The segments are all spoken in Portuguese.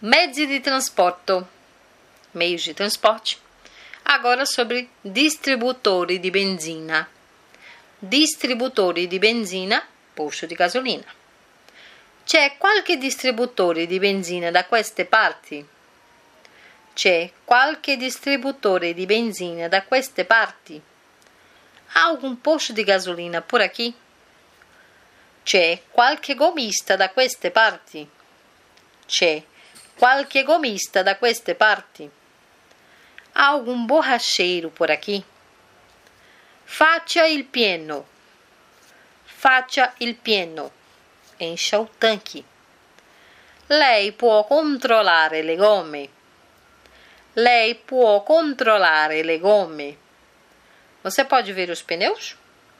Mezzi di trasporto, meios de transporte. Agora sobre distributori di benzina. Distributori di benzina, posto di gasolina. C'è qualche distributore di benzina da queste parti? C'è qualche distributore di benzina da queste parti? Há algum posto di gasolina por aqui? C'è qualche gommista da queste parti? C'è qualche gommista da queste parti? Há algum borracheiro por aqui? Faccia il pieno. Faccia il pieno. Encha o tanque. Lei può controllare le gomme. Lei può controllare le gomme. Você pode ver os pneus?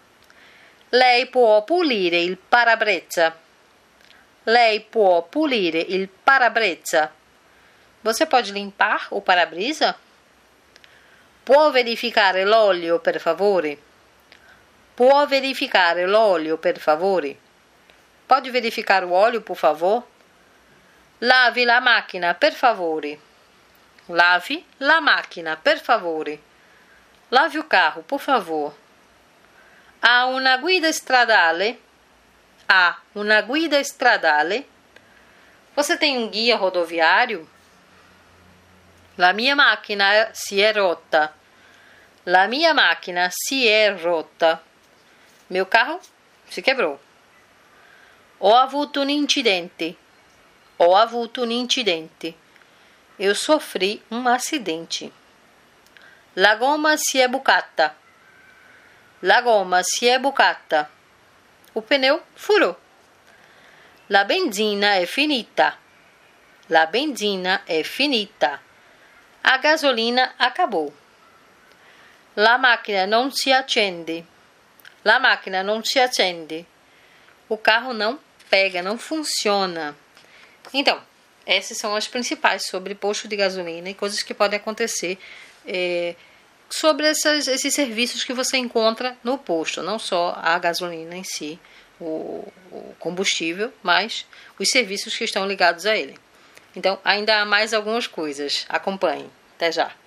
Lei può pulire il parabrezza. Lei può pulire il parabrezza. Você pode limpar o para-brisa? Può verificare l'olio, per favore? Può verificare l'olio, per favore? Pode verificar o óleo, por favor? Lavi la macchina, per favore. Lavi la macchina, per favore. Lave o carro, por favor. Ha una guida stradale? Ha una guida stradale? Você tem um guia rodoviário? La mia macchina si è rotta. La mia macchina si è rotta. Meu carro se quebrou. Ho avuto un incidente. Ho avuto un incidente. Eu sofri um acidente. La gomma si è bucata. La gomma si è bucata. O pneu furou. La benzina è finita. La benzina è finita. A gasolina acabou. La macchina non si accende. La macchina non si accende. O carro não pega, não funciona. Então, essas são as principais sobre posto de gasolina e coisas que podem acontecer sobre esses serviços que você encontra no posto. Não só a gasolina em si, o combustível, mas os serviços que estão ligados a ele. Então, ainda há mais algumas coisas. Acompanhe. Até já.